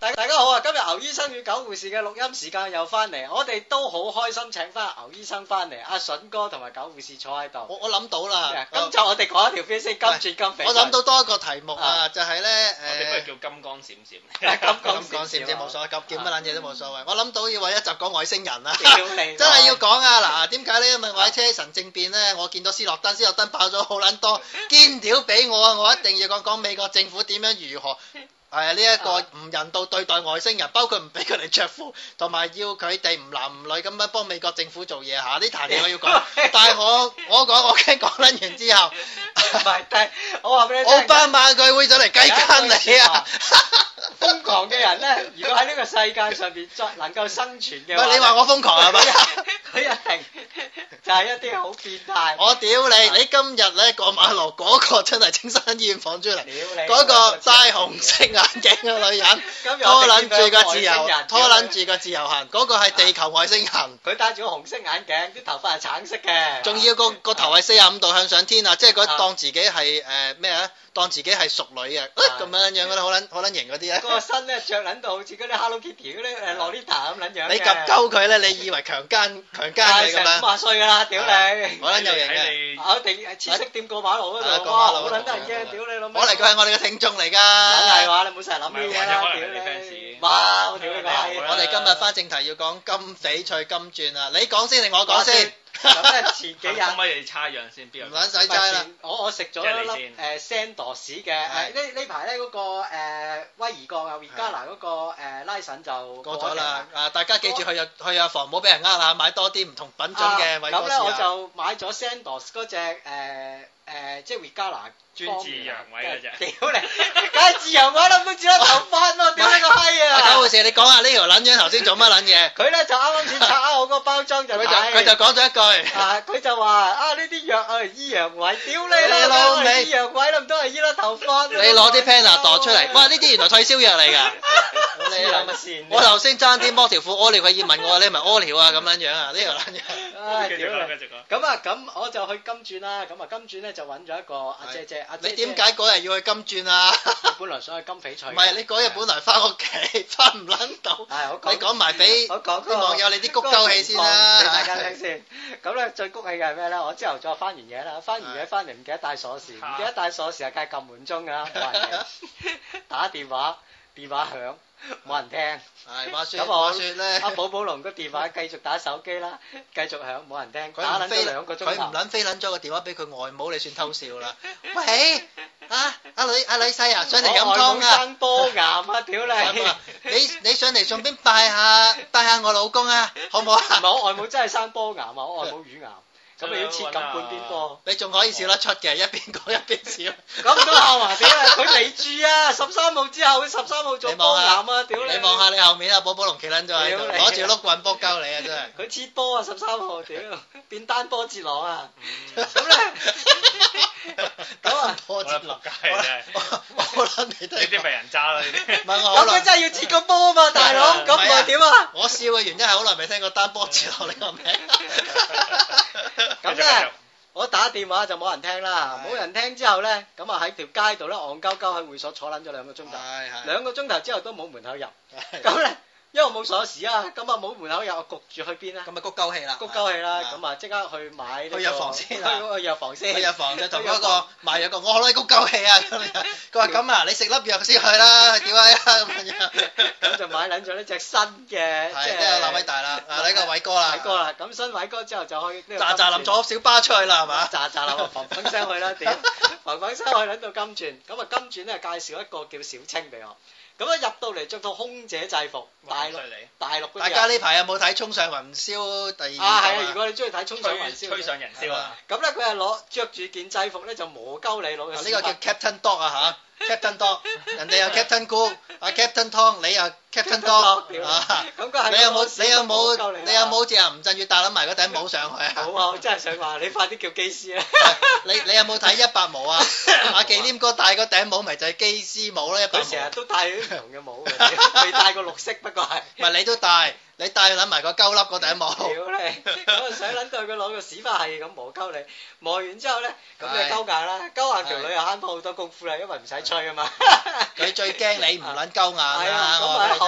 大家好啊！今日牛醫生與狗護士嘅錄音時間又翻嚟，我哋都好開心請翻牛醫生翻嚟，阿筍哥同埋狗護士坐喺度。 我諗到啦， 今集我哋講一條片先，金鑽金翡翠。 我諗到多一個題目啊，就係咧我哋不如叫金光閃閃。 金光閃閃冇所謂，叫乜撚嘢都冇所謂。我諗到要揾一集講外星人啊， 真係要講啊！嗱，點解咧？因為我喺車神政變咧，我見到斯諾登爆咗好撚多堅料俾我啊！我一定要講美國政府點樣如何。係呢一個唔人道對待外星人，包括唔俾佢哋着褲，同埋要佢哋唔男唔女咁樣幫美國政府做嘢嚇。呢壇嘢我要講，但係我講我驚講撚完之後， 唔係，但係我話俾你聽， 奧巴馬佢會上嚟雞奸你啊！ 瘋狂嘅人咧，如果喺呢個世界上邊再能夠生存嘅話， 唔係你話我瘋狂係咪？ 佢一定就係一啲好變態。 我屌你！你今日咧過馬路嗰個真係青山醫院放出嚟，嗰個戴紅色眼鏡嘅女人，拖撚住個自由行，嗰個係地球外星人。 佢戴住個紅色眼鏡，啲頭髮係橙色嘅。 仲要個頭係45度向上天啊！即係佢當自己係咩啊？當自己係淑女啊！咁樣嗰啲好撚型嗰啲啊！ 個身咧着撚到好似嗰啲 Hello Kitty 嗰啲洛麗塔咁撚樣。 你夾鳩佢咧，你以為強姦你咁樣？ 成50歲㗎啦，屌你！ 好撚有型嘅。 我哋黐色店過馬路嗰度，哇！好撚得人驚，屌你老味！ 我嚟佢係我哋嘅聽眾嚟㗎。 梗係話你唔好成日諗呢嘢啦，屌你！哇！我屌你個閪！ 我哋今日翻正題要講金翡翠金鑽啊！你講先定我講先？ 咁咧前幾日可唔可以差樣先？邊唔撚使齋啦！ 我食咗一粒Sandoz 嘅呢排咧嗰個威爾鋼啊 Vegala 嗰個拉神就過咗啦！大家記住去藥房唔好俾人呃啦，買多啲唔同品種嘅偉哥士啊！ 咁咧我就買咗 Sandoz 嗰隻即係 Vegala 專治陽痿嗰隻。 屌你！梗係治陽痿啦，都治得頭髮咯！屌你個閪啊！ 狗護士，你講下呢條撚樣頭先做乜撚嘢？ 佢咧就啱啱先拆開我個包裝就佢就講咗一句。 佢就話呢啲藥醫陽痿，屌你老味！醫陽痿都唔通係醫甩頭髮？ 你攞啲 Panadol 出嚟，哇！呢啲原來退燒藥嚟㗎。 你諗乜線？ 我頭先爭啲剝條褲屙尿，佢要問我你係咪屙尿啊咁樣樣啊？呢條撚樣。 繼續講。 咁我就去金鑽啦。咁啊金鑽咧就揾咗一個阿姐姐。 你點解嗰日要去金鑽啊？ 本來想去金翡翠。唔係你嗰日本來翻屋企，翻唔撚到。你講埋俾啲網友你啲谷鳩氣先啦。 俾大家聽先。咁咧最谷氣嘅係咩咧？我朝頭早翻完嘢啦，翻完嘢翻嚟唔記得帶鎖匙，唔記得帶鎖匙啊，梗係撳門鐘㗎啦，冇人嘅。打電話響。冇人聽， 係話説咧， 阿寶寶龍個電話繼續打手機啦，繼續響，冇人聽，打撚咗2個鐘頭， 佢唔撚飛撚咗個電話俾佢外母，你算偷笑啦。喂，阿女婿啊，上嚟飲湯啊！ 我外母生波癌啊，屌你！ 你上嚟順便拜下我老公啊，好唔好啊？ 唔係我外母真係生波癌啊，我外母乳癌。咁你要切咁半邊波， 你仲可以笑得出嘅，一邊講一邊笑。 咁都孝華屌啊！佢嚟住啊，13號之後，13號做波癌啊！屌你！ 你望下你後面啊，寶寶龍企撚咗喺度，攞住碌棍卜鳩你啊！真係。 佢切波啊！13號屌，變單波截狼啊！咁咧，咁啊， 我撲街真係。 我諗你都。 呢啲咪人渣咯呢啲。 咁佢真係要切個波啊嘛，大佬，咁唔係點啊？ 我笑嘅原因係好耐未聽過單波截狼呢個名。 咁咧，我打電話就冇人聽啦，冇人聽之後咧，咁啊喺條街度咧，戇鳩鳩喺會所坐撚咗2個鐘頭，2個鐘頭之後都冇門口入，咁咧，因為我冇鎖匙啊，咁啊冇門口入，我焗住去邊咧？ 咁咪谷鳩氣啦， 谷鳩氣啦，咁啊即刻去買去藥房先啊， 去藥房先， 去藥房就同嗰個賣藥個，我攞你谷鳩氣啊咁樣，佢話咁啊，你食粒藥先去啦，屌啊咁樣， 咁就買撚咗呢隻新嘅，即係那位大啦，呢個偉哥啦， 咁新偉哥之後就去喳喳臨坐小巴出去啦係嘛？ 喳喳臨嘭嘭聲去啦，屌，嘭嘭聲去撚到金鑽，咁啊金鑽咧介紹一個叫小青俾我。咁一入到嚟着套空姐制服，大陸嗰啲。大家呢排有冇睇《衝上雲霄》第2集啊？係啊，如果你中意睇《衝上雲霄》， 吹上人霄啊！ 咁咧佢係攞着住件制服咧就磨鳩你攞嘅。 呢個叫 Captain Dog 啊嚇 ，Captain Dog，人哋有 Captain Cool，阿 Captain Tom，你又 Captain Dog 啊？咁佢係你有冇似阿吳鎮宇戴撚埋嗰頂帽上去啊？ 冇啊！我真係想話你快啲叫機師啊！ 你有冇睇100毛啊？阿忌廉哥戴嗰頂帽咪就係機師帽咯，100毛。 佢成日都戴啲唔同嘅帽嘅，未戴過綠色不過係。 唔係你都戴。你帶佢撚埋個鳩粒嗰頂帽， 屌你！咁啊想撚到佢攞個屎花係咁磨鳩你，磨完之後咧，咁你鳩硬啦，鳩硬條女又慳翻好多功夫啦，因為唔使吹啊嘛。 佢最驚你唔撚鳩硬啊！ 咁啊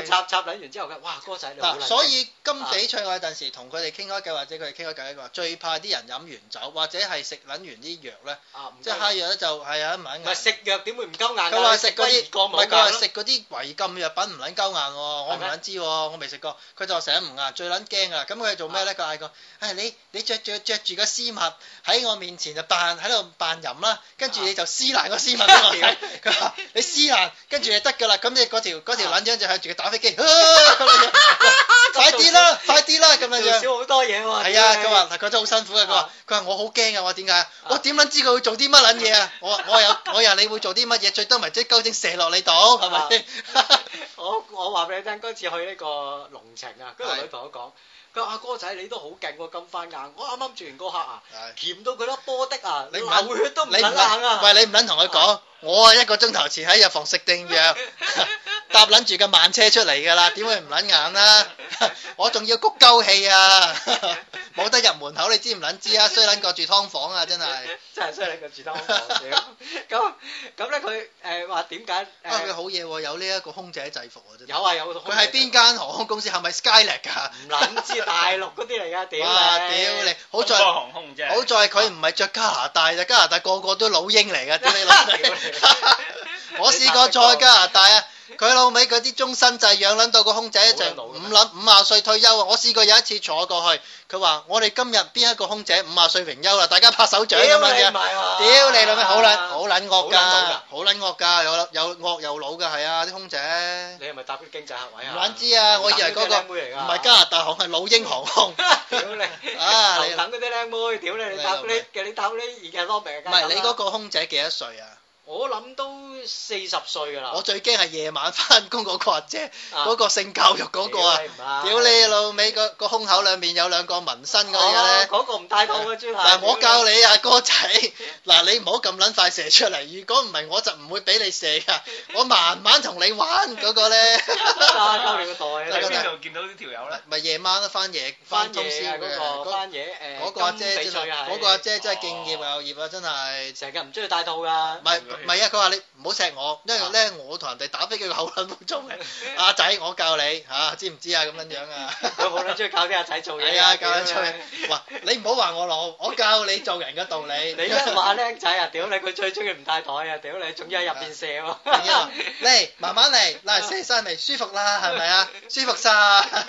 插撚完之後嘅，哇哥仔你好撚。 所以今比賽我有陣時同佢哋傾開偈，或者佢哋傾開偈，佢話最怕啲人飲完酒，或者係食撚完啲藥咧，即係蝦藥咧就係啊唔撚硬。唔係食藥點會唔鳩硬？ 佢話食嗰啲，唔係佢話食嗰啲違禁藥品唔撚鳩硬喎，我唔撚知喎，我未食過。佢就成日唔硬，最撚驚啊！咁佢做咩咧？佢嗌個，你着住個絲襪喺我面前就喺度扮淫啦，跟住你就撕爛個絲襪俾我睇。佢話你撕爛，跟住就得㗎啦。咁你嗰條撚樣就向住佢打飛機，快啲啦咁樣樣。 少好多嘢喎。 係啊，佢話佢真係好辛苦啊。佢話我好驚啊！我點解？我點撚知佢會做啲乜撚嘢啊？我又你會做啲乜嘢？最多咪即係鳩精射落你度係咪？ 我話俾你聽，嗰次去呢個龍情啊，嗰條女同我講。佢話阿哥仔你都好勁喎，咁翻硬！我啱啱住完個客啊，鉗到佢粒波的啊，你流血都唔撚硬啊！ 喂，你唔撚同佢講，我係1個鐘頭前喺藥房食定藥，搭撚住個慢車出嚟㗎啦，點會唔撚硬啦？我仲要谷鳩氣啊！冇得入門口，你知唔撚知啊？衰撚過住劏房啊！真係衰撚過住劏房。咁咧佢話點解？ 佢好嘢喎，有呢一個空姐制服啊！真係有啊有。 佢係邊間航空公司？係咪 Skynet 㗎？ 唔撚知大陸嗰啲嚟㗎，屌你！ 好在佢唔係着加拿大咋，加拿大個個都老鷹嚟㗎，屌你老味！我試過坐加拿大啊！佢老味嗰啲終身制養撚到個空姐就50歲退休啊！我試過有一次坐過去，佢話我哋今日邊一個空姐50歲榮休啦，大家拍手掌咁樣嘅。屌你老味，好撚惡㗎，有惡有老㗎，係啊啲空姐。 你係咪搭啲經濟客位啊？ 唔撚知啊！我以為嗰個唔係加拿大航，係老鷹航空。 屌你！你等嗰啲靚妹，屌你！你搭啲而家攞命㗎。 唔係你嗰個空姐幾多歲啊？ 我諗都40歲㗎啦。 我最驚係夜晚翻工嗰個阿姐，嗰個性教育嗰個啊！屌你老味，個胸口兩面有2個紋身嗰啲咧。 嗰個唔帶套嘅專係。 嗱，我教你啊，哥仔，嗱你唔好咁撚快射出嚟，如果唔係我就唔會俾你射㗎，我慢慢同你玩嗰個咧。 交你個袋。 喺邊度見到呢條友咧？ 咪夜晚都翻通宵嘅。 翻夜嗰個阿姐真係，嗰個阿姐真係敬業又業啊！真係。 成日唔中意帶套㗎。 唔係啊！佢話你唔好錫我，因為咧我同人哋打飛機個口撚冇做嘅。阿仔，我教你嚇，知唔知啊？咁樣樣啊！ 佢好撚中意教啲阿仔做嘢。 係啊，教佢做嘢。哇！你唔好話我老，我教你做人嘅道理。 你一話僆仔啊，屌你！佢最中意唔帶台啊，屌你！仲要喺入邊射喎。 嚟，慢慢嚟，嗱射晒未？舒服啦，係咪啊？舒服晒。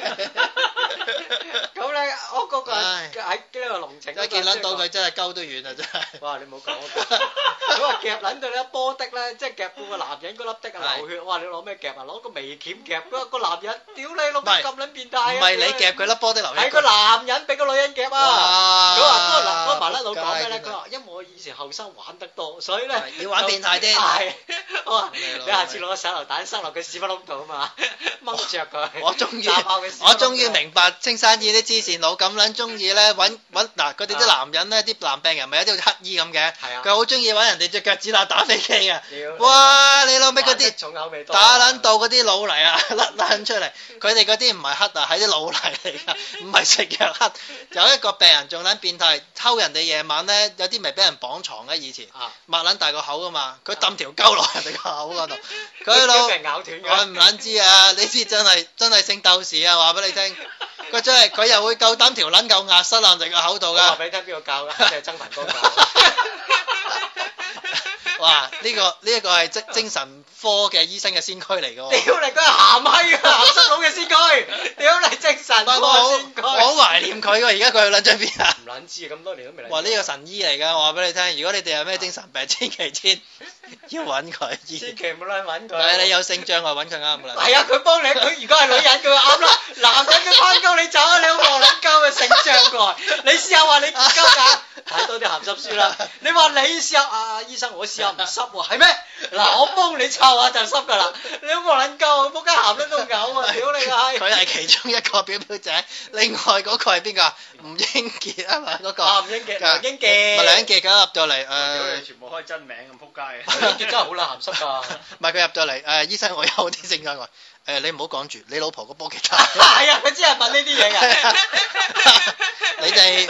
咁咧，我嗰個喺呢個龍情。 一見撚到佢真係鳩都遠啊！真係。 哇！你唔好講。佢話夾撚到你一波的咧，即係夾到個男人嗰粒的啊流血。哇！你攞咩夾啊？攞個眉鉗夾個男人，屌你老母咁撚變態啊！ 唔係你夾佢粒波的流血。 係個男人俾個女人夾啊！佢話嗰個麻甩佬講咩咧？佢話因為我以前後生玩得多，所以咧要玩變態啲。 係。我話你下次攞個手榴彈塞落佢屎忽窿度啊嘛，掹著佢。 我終於明白青山醫啲黐線佬咁撚中意咧揾嗱佢哋啲男人咧啲男病人咪有啲好似乞衣咁嘅，佢好中意揾人哋隻腳趾罅打飛機啊！哇！你老味嗰啲打撚到嗰啲老泥啊甩撚出嚟，佢哋嗰啲唔係黑啊，係啲老泥嚟㗎，唔係食藥黑。有一個病人仲撚變態，偷人哋夜晚咧，有啲咪俾人綁床嘅以前，擘撚大個口㗎嘛，佢揼條鳩落人哋個口嗰度，佢老我唔撚知啊！呢啲真係聖鬥士啊！話俾你聽。佢真係佢又會夠膽條撚夠壓塞爛人個口度㗎。 話俾你聽邊個教㗎？係曾文哥教。 哇！呢個係精神科嘅醫生嘅先驅嚟㗎喎。 屌你，佢係鹹閪㗎，鹹濕佬嘅先驅。屌你，精神科先驅。 我好懷念佢喎，而家佢去撚咗邊啊？ 唔撚知咁多年都未嚟。 哇！呢個神醫嚟㗎，我話俾你聽，如果你哋有咩精神病，千祈要揾佢醫。 千祈唔好撚揾佢。 係你有性障礙揾佢啱㗎啦。 係啊，佢幫你，佢如果係女人，佢啱啦。男人佢翻鳩你走啊！你好黃撚鳩嘅性障礙。你試下話你唔鳩眼，睇多啲鹹濕書啦。你話你試下啊，醫生我試下唔濕喎，係咩？嗱，我幫你湊下就濕㗎啦。你好黃撚鳩，仆街鹹得都嘔啊！屌你個閪！ 佢係其中一個表姐，另外嗰個係邊個？吳英傑啊嘛，嗰個。 吳英傑，梁英傑。 咪梁英傑咁入到嚟屌你，全部開真名咁仆街嘅。 梁英傑真係好撚鹹濕㗎。 唔係佢入到嚟醫生，我有啲性障礙。 你唔好講住，你老婆個波幾大？ 係啊，佢只係問呢啲嘢㗎。 你哋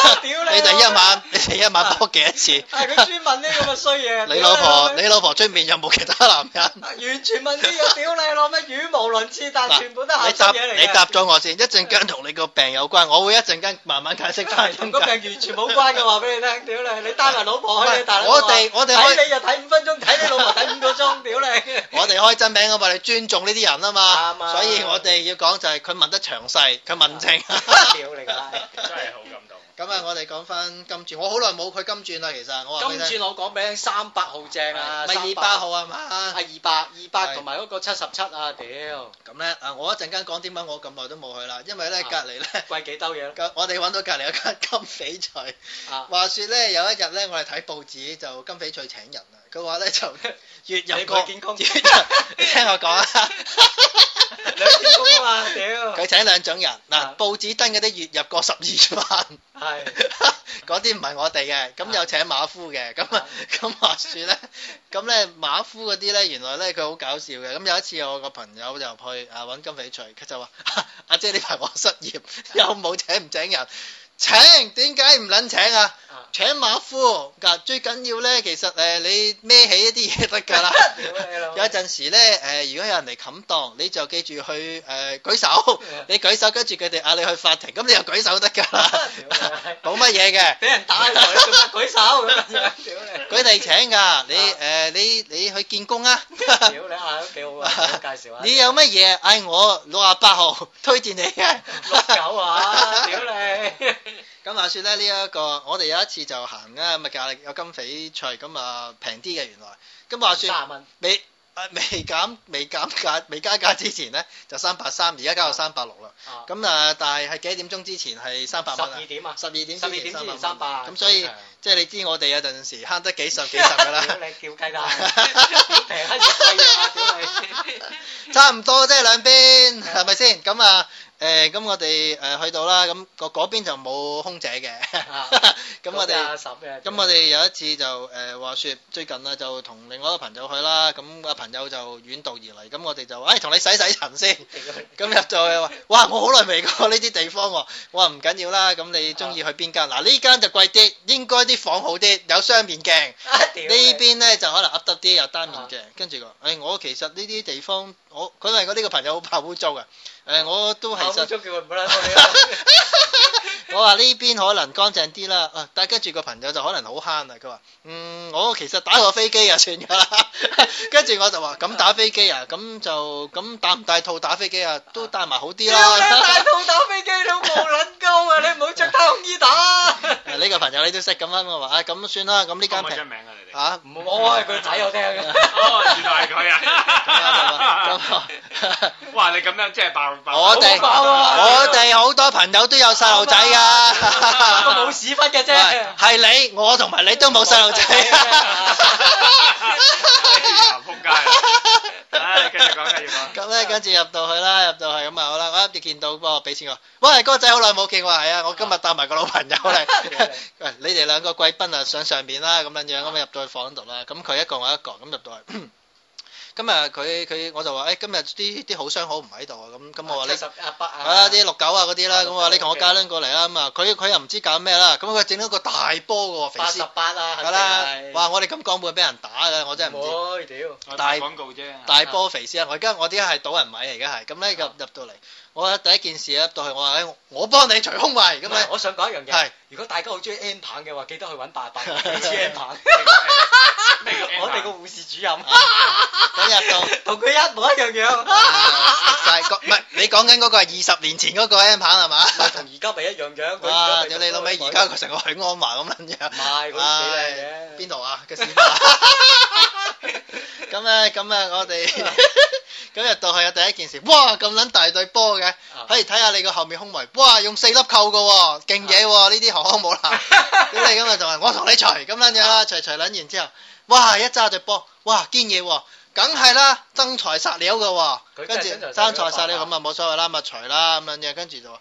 一晚波幾多次？ 係佢專問呢咁嘅衰嘢。 你老婆出面有冇其他男人？ 完全問呢個屌你攞咩語無倫次，但係全部都係鹹濕嘢嚟嘅。 你答咗我先，一陣間同你個病有關，我會一陣間慢慢解釋翻。 同個病完全冇關嘅，話俾你聽，屌你！你帶埋老婆去，大佬。 我哋睇你就睇5分鐘，睇你老婆睇5個鐘，屌你！ 我哋開真名啊嘛，你尊重呢啲人啊嘛，所以我哋要講就係佢問得詳細，佢問清。 屌你個拉！ 真係好感動。 咁啊，我哋講翻金鑽，我好耐冇去金鑽啦，其實我話俾你聽。 金鑽我講俾你聽，38號正啊， 咪28號啊嘛？ 係200同埋嗰個77啊，屌！ 咁咧我一陣間講點解我咁耐都冇去啦，因為咧隔離咧貴幾兜嘢咯。 我哋揾到隔離有間金翡翠，話説咧有一日咧我哋睇報紙就金翡翠請人啊，佢話咧就月入個你聽我講啊。 兩天工啊嘛，屌！ 佢請2種人，嗱報紙登嗰啲月入過12萬， 係嗰啲唔係我哋嘅，咁有請馬夫嘅，咁話説咧，咁咧馬夫嗰啲咧原來咧佢好搞笑嘅，咁有一次我個朋友就去揾金翡翠，佢就話阿姐呢排我失業，有冇請唔請人？請，點解唔撚請啊？請馬夫，最緊要咧，其實你孭起一啲嘢得㗎啦。有陣時咧如果有人嚟冚檔，你就記住去舉手，你舉手跟住佢哋嗌你去法庭，咁你又舉手得㗎啦。冇乜嘢嘅。俾人打你仲舉手咁樣，屌你！佢哋請㗎，你去見工啊。 屌你啊，都幾好啊！介紹下。 你有乜嘢嗌我68號推薦你嘅 69啊！屌你！ 咁話説咧，呢一個我哋有一次就行啊，咁啊價有金翡翠，咁啊平啲嘅原來。咁話説 30蚊。 未加價之前咧就330，而家加到360啦。咁但係幾點鐘之前係300蚊啊？12點啊！12點之前300。咁所以即係你知我哋有陣時慳得幾十㗎啦。屌你叫雞蛋！平閪食貴嘢啊！屌你！差唔多即係兩邊係咪先？咁啊咁我哋去到啦，咁嗰邊就冇空姐嘅。咁我哋有一次就話説最近啊就同另外一個朋友去啦，咁朋友就遠道而嚟，咁我哋就同你洗塵先。咁入到去話，哇！我好耐未過呢啲地方喎。我話唔緊要啦，咁你中意去邊間？嗱呢間就貴啲，應該啲房好啲，有雙面鏡。呢邊咧就可能噏得啲，有單面鏡。跟住佢我其實呢啲地方，佢話我呢個朋友好怕污糟嘅。我都係實。叫佢唔好啦。我話呢邊可能乾淨啲啦，但係跟住個朋友就可能好慳啊。佢話我其實打過飛機啊，算㗎啦。跟住我就話咁打飛機啊，咁帶唔帶套打飛機啊？都帶埋好啲啦。帶套打飛機你好冇撚鳩啊！你唔好着太空衣打。呢個朋友你都識咁樣，我話咁算啦，咁呢間平。名啊你哋嚇？我係佢仔，我聽嘅。原來係佢啊！ 哇！你咁樣即係爆！ 我哋好多朋友都有細路仔㗎， 不過冇屎忽嘅啫。 係你，我同埋你都冇細路仔。 仆街啊！繼續講。 咁咧，跟住入到去咁啊好啦，我一見到幫我俾錢我，喂哥仔好耐冇見，我話係啊，我今日帶埋個老朋友嚟。喂，你哋兩個貴賓啊上面啦，咁樣咁入到去房度啦，咁佢一個我一個，咁入到去。咁啊我就話今日啲好相好唔喺度啊，咁我話你70、100啲69啊嗰啲啦，咁我話你同我加撚過嚟啦，咁啊佢又唔知搞咩啦，咁佢整咗個大波嘅喎，肥屍88啊，係啦，哇我哋咁講會俾人打嘅，我真係唔知。唔會屌，大廣告啫。大波肥屍啊！我而家係賭人米嚟嘅係，咁咧入到嚟，我第一件事入到去，我話我幫你除胸圍咁咧。我想講一樣嘢，如果大家好中意 M 棒嘅話，記得去揾88支 M 棒。我哋個護士主任，咁入到同佢一模一樣。唔係你講緊嗰個係20年前嗰個 M 棒係嘛？同而家咪一樣。哇！屌你老味，而家佢成個許安華咁撚樣。唔係，嗰啲幾靚嘅。邊度啊？個屎忽啊！咁啊，我哋咁入到去啊，第一件事，哇咁撚大對波嘅，可以睇下你個後面胸圍，哇用4粒扣嘅喎，勁嘢喎，呢啲航空母艦。咁你咁啊就話我同你除咁撚樣啦，除撚完之後，哇一揸對波，哇堅嘢喎，梗係啦，真材實料嘅喎，跟住真材實料咁啊冇所謂啦，咪除啦咁樣嘢，跟住就話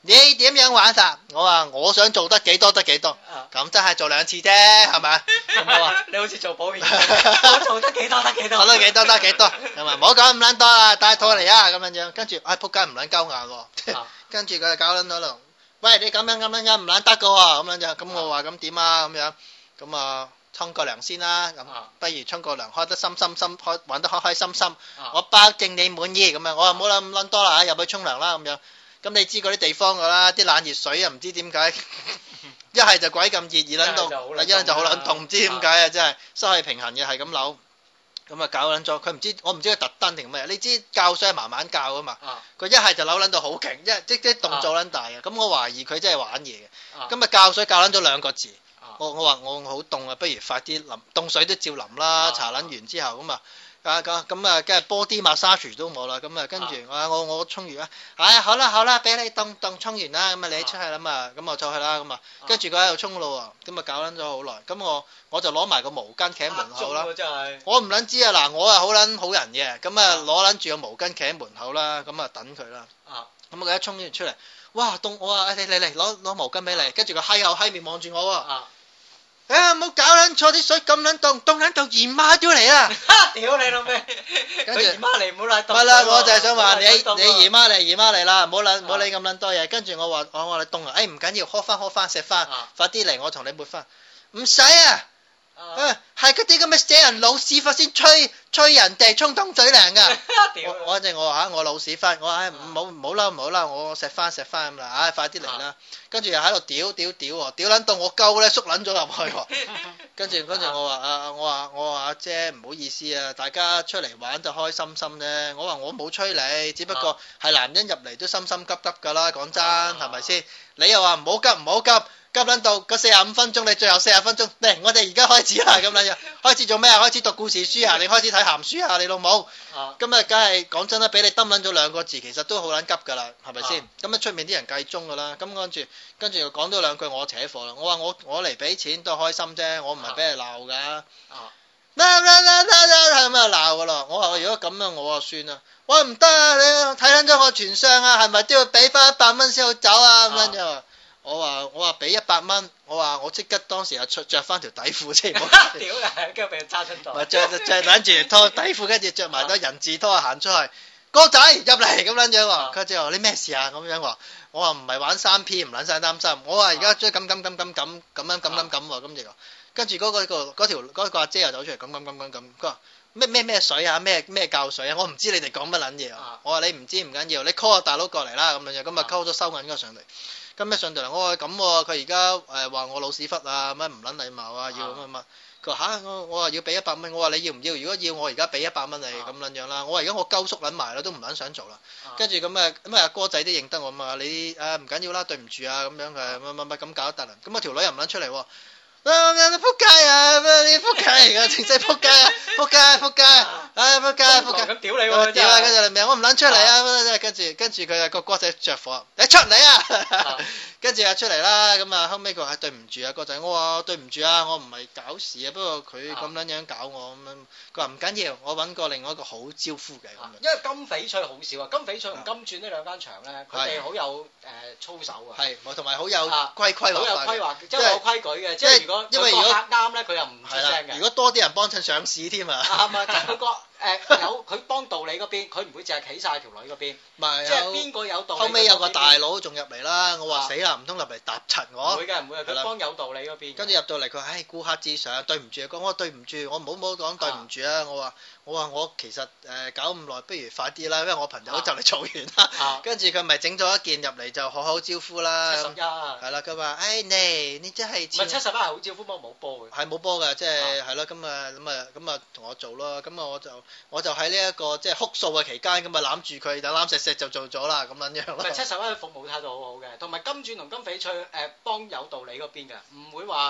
你點樣玩法？我話我想做得幾多得幾多，咁真係做2次啫，係咪？ 咁我話你好似做保險，我做得幾多得幾多， 做得幾多得幾多，係咪？唔好講咁撚多啦，帶套嚟啊咁樣樣，跟住仆街唔撚鳩眼喎，跟住佢就搞撚到度，喂你咁樣唔撚得噶喎，咁樣就咁我話咁點啊咁樣，咁啊沖個涼先啦，咁不如沖個涼開得心開玩得開開心心，我保證你滿意咁樣，我話唔好諗咁撚多啦，入去沖涼啦咁樣。咁你知嗰啲地方噶啦，啲冷熱水啊，唔知點解，一係就鬼咁熱撚到，一係就好撚凍，唔知點解啊！真係失去平衡嘅係咁扭，咁啊搞撚咗，佢唔知我唔知佢特登定咩，你知教水係慢慢教噶嘛，佢一係就扭撚到好勁，即啲動作撚大啊！咁我懷疑佢真係玩嘢嘅，咁啊教水教撚咗2個字，我話我好凍啊，不如快啲淋凍水都照淋啦，搽撚完之後咁啊。咁啊，跟住 body massage 都冇啦，咁啊，跟住我沖完啦，好啦，俾你凍沖完啦，咁啊你出去啦嘛，咁我就去啦，咁啊，跟住佢喺度沖咯喎，咁啊搞撚咗好耐，咁我就攞埋個毛巾企喺門口啦，我唔撚知啊，嗱我啊好撚好人嘅，咁啊攞撚住個毛巾企喺門口啦，咁啊等佢啦，咁佢一沖完出嚟，哇凍，我話你嚟攞毛巾俾你，跟住佢閪口閪面望住我喎。唔好搞撚錯，啲水咁撚凍撚到姨媽都嚟啦！ 屌你老味，佢姨媽嚟唔好嚟凍。 係啦，我就係想話你姨媽嚟啦，唔好理咁撚多嘢。跟住我話你凍啊，唔緊要，呵翻食翻，快啲嚟，我同你抹翻。唔使啊，係嗰啲咁嘅死人老屎忽先吹人哋沖凍水涼噶。我話我老屎忽，我話唔好啦，我食翻咁啦，快啲嚟啦。跟住又喺度屌撚到我鳩咧縮撚咗入去，跟住我話阿姐唔好意思啊，大家出嚟玩就開心啫，我話我冇催你，只不過係男人入嚟都心急噶啦，講真係咪先？你又話唔好急撚到個45分鐘，你最後40分鐘嚟，我哋而家開始啦咁樣，開始做咩啊？開始讀故事書啊？你開始睇鹹書啊？你老母，咁啊梗係講真啦，俾你抌撚咗2個字，其實都好撚急噶啦，係咪先？咁啊出面啲人計鐘噶啦，咁跟住又講多2句，我扯火啦，我話我嚟俾錢都係開心啫，我唔係俾你鬧噶，係咁啊鬧噶咯，我話如果咁樣我就算啦，我話唔得啊，你睇撚咗我全相啊，係咪都要俾翻100蚊先好走啊？咁樣我話俾100蚊，我話我即刻當時啊着翻條底褲先，屌你，跟住俾佢揸出袋， 咪着攬住拖底褲，跟住着埋對人字拖行出去，哥仔入嚟咁樣喎，佢就話你咩事啊咁樣話，我話唔係玩3P，唔撚晒擔心，我話而家追咁喎，咁就跟住嗰個阿姐又走出嚟咁，佢話咩水啊，咩教水啊，我唔知你哋講乜撚嘢啊，我話你唔知唔緊要，你 call 個大佬過嚟啦咁樣，咁啊溝咗收銀嗰個上嚟。咁一上到嚟，我話咁喎，佢而家話我老屎忽啊，乜唔撚禮貌啊，要乜，佢話我話要俾100蚊，我話你要唔要？如果要，我而家俾100蚊你咁撚樣啦，我話而家我鳩縮撚埋啦，都唔撚想做啦，跟住咁啊哥仔都認得我嘛，你唔緊要啦，對唔住啊咁樣嘅乜咁搞得啦，咁啊條女又唔撚出嚟喎。仆街啊！你仆街嚟噶，正式仆街啊！仆街！仆街！ 咁屌你喎！ 屌啊！跟住你命，我唔撚出嚟啊！跟住佢啊個哥仔着火，你出嚟啊！跟住啊出嚟啦，咁啊後尾佢話對唔住啊哥仔，我話對唔住啊，我唔係搞事啊，不過佢咁撚樣搞我咁樣，佢話唔緊要，我揾過另外一個好招呼嘅咁樣。 因為金翡翠好少啊，金翡翠同金鑽呢2間場咧，佢哋好有操守啊， 係，同埋好有規劃， 好有規劃，即係有規矩嘅，即係因為如果客啱咧，佢又唔出聲嘅。 如果多啲人幫襯上市添啊， 啱啊！即係佢個有佢幫道理嗰邊，佢唔會淨係企晒條女嗰邊。即係邊個有道理？ 後尾有個大佬仲入嚟啦，我話死啦，唔通入嚟搭柒我？ 唔會嘅，佢幫有道理嗰邊。 跟住入到嚟，佢話顧客至上，對唔住啊，我對唔住，我唔好講對唔住啊，我話我其實搞咁耐，不如快啲啦，因為我朋友就嚟做完啦。跟住佢咪整咗一件入嚟就好招呼啦。 71 係啦，佢話你真係唔係71係好招呼，不過冇波嘅。 係冇波嘅，即係係咯，咁啊同我做咯，咁啊我就喺呢一個即係哭訴嘅期間，咁啊攬住佢，就攬錫就做咗啦，咁樣樣咯。71服務態度好好嘅，同埋金鑽同金翡翠幫有道理嗰邊嘅，唔會話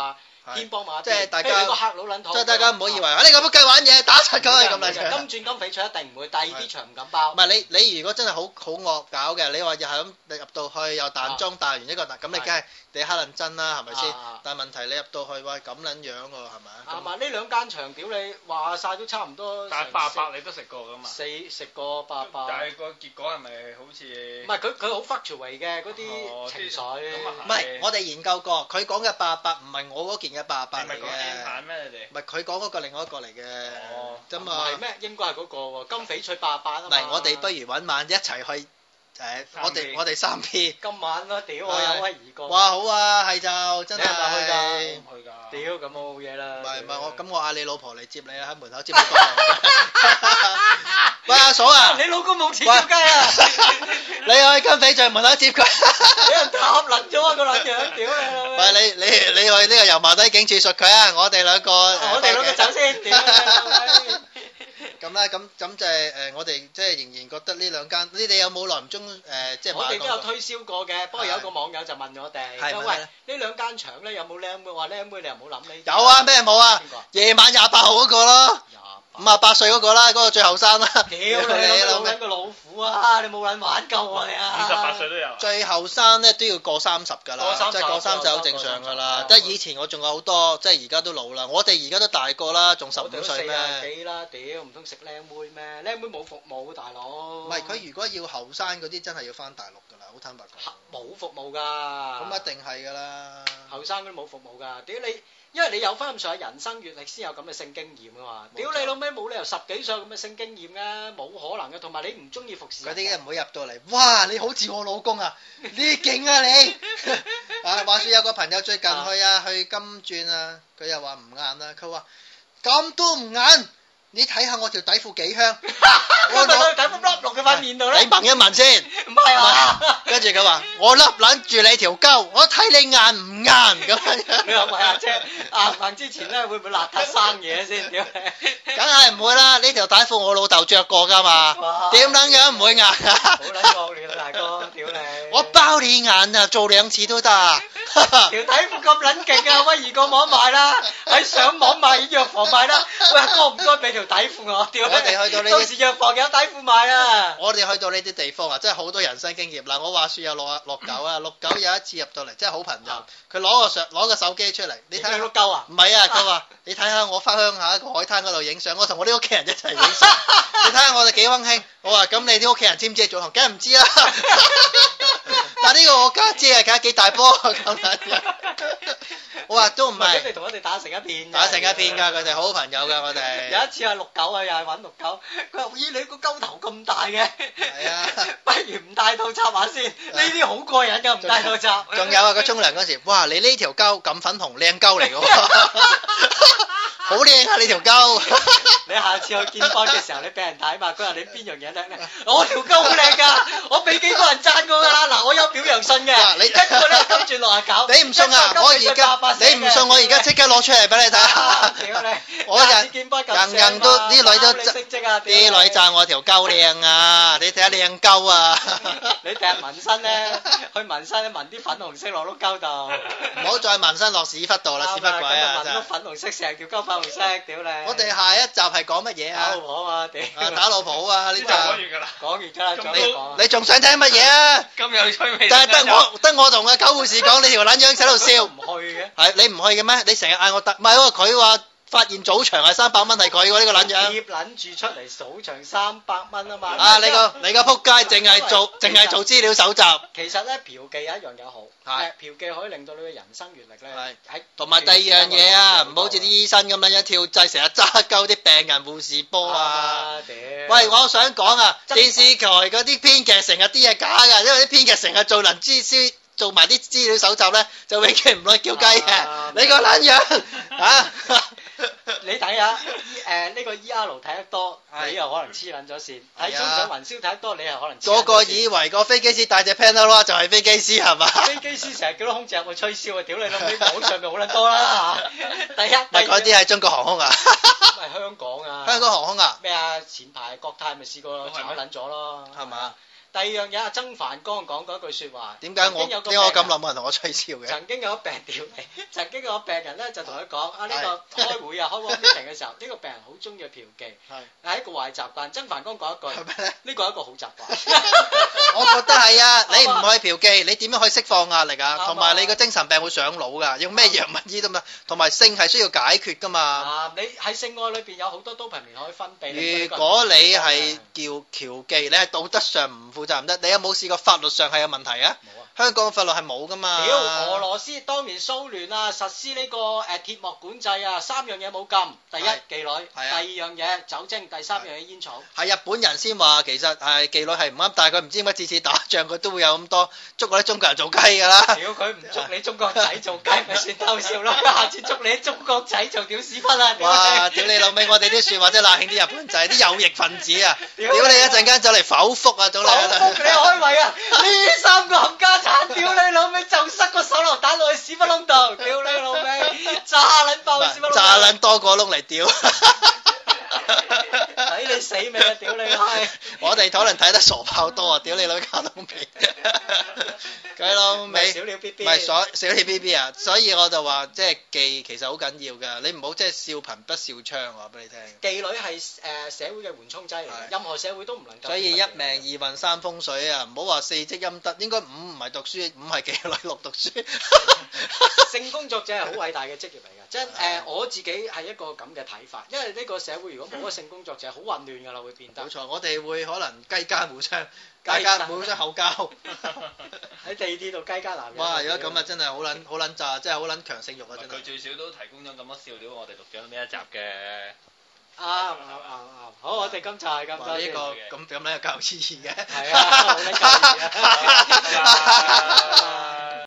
天幫馬， 即係大家個黑佬撚即係大家唔好以為你咁計玩嘢打柒佢係咁嚟嘅。金鑽金翡翠一定唔會，第二啲場唔敢包。 唔係你如果真係好惡搞嘅，你話又係咁你入到去又彈裝彈完一個彈，咁你梗係你黑撚真啦，係咪先？但係問題你入到去喂咁撚樣喎，係咪啊？ 啱啊！呢兩間場屌你話曬都差唔多。但係800你都食過㗎嘛？食過800。 但係個結果係咪好似？ 唔係佢好 fluctuate 嘅嗰啲情緒。 唔係我哋研究過，佢講嘅800唔係我嗰件嘅800嚟嘅。你咪講 N 版咩你哋？ 唔係佢講嗰個另外一個嚟嘅。哦。啫嘛。 唔係咩？應該係嗰個喎，金翡翠800啊嘛。 唔係我哋不如揾晚一齊去。我哋3 P 今晚咯，屌我有威而過。 哇好啊，係就真係。 你係咪去㗎？ 唔去㗎。 屌咁冇嘢啦。 唔係我嗌你老婆嚟接你啊，喺門口接你過嚟。喂阿嫂啊！ 你老公冇錢叫雞啊！ 你去金翡翠門口接佢。 俾人打撚咗啊個撚樣，屌你！ 唔係你去呢個油麻地警署述佢啊！我哋兩個走先，屌你！ 咁啦，咁就係我哋即係仍然覺得呢兩間，你哋有冇耐唔中即係我哋都有推銷過嘅，不過有一個網友就問我哋，喂呢兩間場咧有冇靚妹？話靚妹你又唔好諗呢。 有啊，咩冇啊？夜晚28號嗰個咯，58歲嗰個啦，嗰個最後生啦。 屌你老撚個老虎啊！你冇撚玩夠啊你啊 ！58歲都有。 最後生咧都要過30㗎啦，即係過30好正常㗎啦。即係以前我仲有好多，即係而家都老啦。我哋而家都大個啦，仲15歲咩？ 我哋都40幾啦，屌唔通食靚妹咩？靚妹冇服務大佬。 唔係佢如果要後生嗰啲，真係要翻大陸㗎啦，好坦白講。 冇服務㗎。 咁一定係㗎啦。後生嗰啲冇服務㗎，屌你！因為你有翻咁上下人生閲歷先有咁嘅性經驗啊嘛，屌你老味冇理由10幾歲咁嘅性經驗㗎，冇可能嘅，同埋你唔中意服侍人。嗰啲唔會入到嚟，哇！你好似我老公啊，你勁啊你！啊話説有個朋友最近去金鑽啊，佢又話唔硬啦，佢話咁都唔硬。你睇下我條底褲幾香， 我咪攞底褲笠落佢塊面度咧。 你聞一聞先， 唔係啊。 跟住佢話：我笠撚住你條鳩，我睇你硬唔硬咁樣。 你話喂阿姐，行之前咧會唔會邋遢生嘢先？屌你！ 梗係唔會啦，呢條底褲我老豆着過㗎嘛，點撚樣唔會硬啊？ 好撚惡劣啊大哥，屌你！ 我包你硬啊，做2次都得。 條底褲咁撚勁啊，威而過網賣啦，喺上網賣藥房賣啦。喂，該唔該俾條底褲我？屌你！我哋去到呢啲，到時藥房有底褲賣啊！ 我哋去到呢啲地方啊，真係好多人生經驗。嗱，我話説有六九啊，六九有一次入到嚟，真係好朋友。佢攞個手機出嚟，你睇下。六九啊？唔係啊，佢話你睇下我翻鄉下一個海灘嗰度影相，我同我啲屋企人一齊影相。你睇下我哋幾溫馨。我話咁你啲屋企人知唔知做行？梗係唔知啦。但係呢個我家姐啊，睇下幾大波咁樣。我話都唔係。佢哋同我哋打成一片。打成一片㗎，佢哋好朋友㗎，我哋。有一次係69啊，又係揾69。佢話：咦，你個鳩頭咁大嘅？係啊。不如唔戴套插下先，呢啲好過癮㗎，唔戴套插。仲有啊，佢沖涼嗰時，哇！你呢條鳩咁粉紅，靚鳩嚟㗎喎。好靚啊！你條鳩。你下次去見翻嘅時候，你俾人睇嘛？佢話你邊樣嘢叻咧？我條鳩好靚㗎，我俾幾個人讚過㗎啦。嗱，我有表揚信嘅。你一個咧跟住落下搞。你唔信啊？我而家你唔信，我而家即刻攞出嚟俾你睇下。屌你！我人都啲女都啲女讚我條鳩靚啊！你睇下靚鳩啊！你第日紋身咧，去紋身紋啲粉紅色落碌鳩度。唔好再紋身落屎忽度啦，屎忽鬼啊！紋碌粉紅色，成條鳩粉紅色，屌你！我哋下一集係講乜嘢啊？打老婆啊！屌！打老婆啊！呢集講完㗎啦，講完㗎啦，你仲想聽乜嘢啊？咁有趣味！但係得我同阿狗護士講，你條撚樣喺度笑。唔去嘅。係你唔去嘅咩？你成日嗌我得，唔係喎，佢話發現早場係300蚊係佢喎，呢個撚樣。貼撚住出嚟數場300蚊啊嘛。啊！你個撲街，淨係做資料搜集。其實咧，嫖妓有一樣嘢好，嫖妓可以令到你嘅人生閲歷咧喺。同埋第二樣嘢啊，唔好似啲醫生咁樣跳掣，成日揸鳩啲病人護士波啊！喂，我想講啊，電視台嗰啲編劇成日啲嘢假㗎，因為啲編劇成日做埋啲資料搜集咧，就永遠唔會叫雞嘅。你個撚樣啊！你睇下呢個 ER 睇得多，你又可能黐撚咗線；睇中上雲霄睇得多，你又可能。個個以為個飛機師帶隻 Panama 就係飛機師係嘛？飛機師成日叫啲空姐入去吹簫啊！屌你老味，網上咪好撚多啦嚇！第一，咪嗰啲係中國航空啊？唔係香港啊！香港航空啊？咩啊？前排國泰咪試過炒撚咗咯，係嘛？ 第二樣嘢，阿曾凡光講過一句説話。 點解我咁耐冇人同我吹簫嘅？ 曾經有個病屌你，曾經有個病人咧就同佢講：啊呢個開會啊，開 meeting 嘅時候，呢個病人好中意嫖妓，係一個壞習慣。曾凡光講一句：係咩咧？呢個係一個好習慣。 我覺得係啊，你唔可以嫖妓，你點樣可以釋放壓力啊？同埋你個精神病會上腦㗎，用咩藥物醫都嘛。同埋性係需要解決㗎嘛。 啊，你喺性愛裏邊有好多多巴胺可以分泌。 如果你係叫嫖妓，你係道德上唔負責唔得。你有冇試過法律上係有問題啊？冇啊。香港法律係冇㗎嘛。 屌，俄羅斯當年蘇聯啊實施呢個鐵幕管制啊，三樣嘢冇禁。第一妓女，第二樣嘢酒精，第三樣嘢煙草。 係日本人先話其實係妓女係唔啱，但係佢唔知點解次次打仗佢都會有咁多捉嗰啲中國人做雞㗎啦。 屌，佢唔捉你中國仔做雞咪算偷笑咯，下次捉你中國仔做屌屎忽啊！ 哇！屌你老味，我哋啲説話真係冷興啲日本仔，啲右翼分子啊！屌你一陣間就嚟剖腹啊！早嚟剖腹你開胃啊！呢三個冚家鏟，屌你老味就塞個手榴彈落去屎忽窿度，屌你老味炸撚爆屎忽窿， 炸撚多個窿嚟屌！ 睇你死未啊！屌你閪！ 我哋可能睇得傻炮多啊！屌你老卡通片，鬼佬尾， 小鳥 B B， 唔係小鳥 B B 啊！所以我就話即係妓其實好緊要㗎，你唔好即係笑貧不笑娼，話俾你聽。 妓女係社會嘅緩衝劑嚟嘅，任何社會都唔能夠。 所以一命二運三風水啊！唔好話四積陰德，應該五唔係讀書，五係妓女，六讀書。 性工作者係好偉大嘅職業嚟㗎，即係我自己係一個咁嘅睇法，因為呢個社會如果冇咗性工作者，好混亂㗎啦，會變得。 冇錯，我哋會可能雞奸互相，大家互相口交。 喺地鐵度雞奸男人。 哇！如果咁啊，真係好撚炸，真係好撚強性慾啊！真係。 佢最少都提供咗咁多笑料，我哋錄咗呢一集嘅。 啱，好，我哋今集係咁多。 呢個咁樣有教育意義嘅。 係啊，好撚教育意義啊！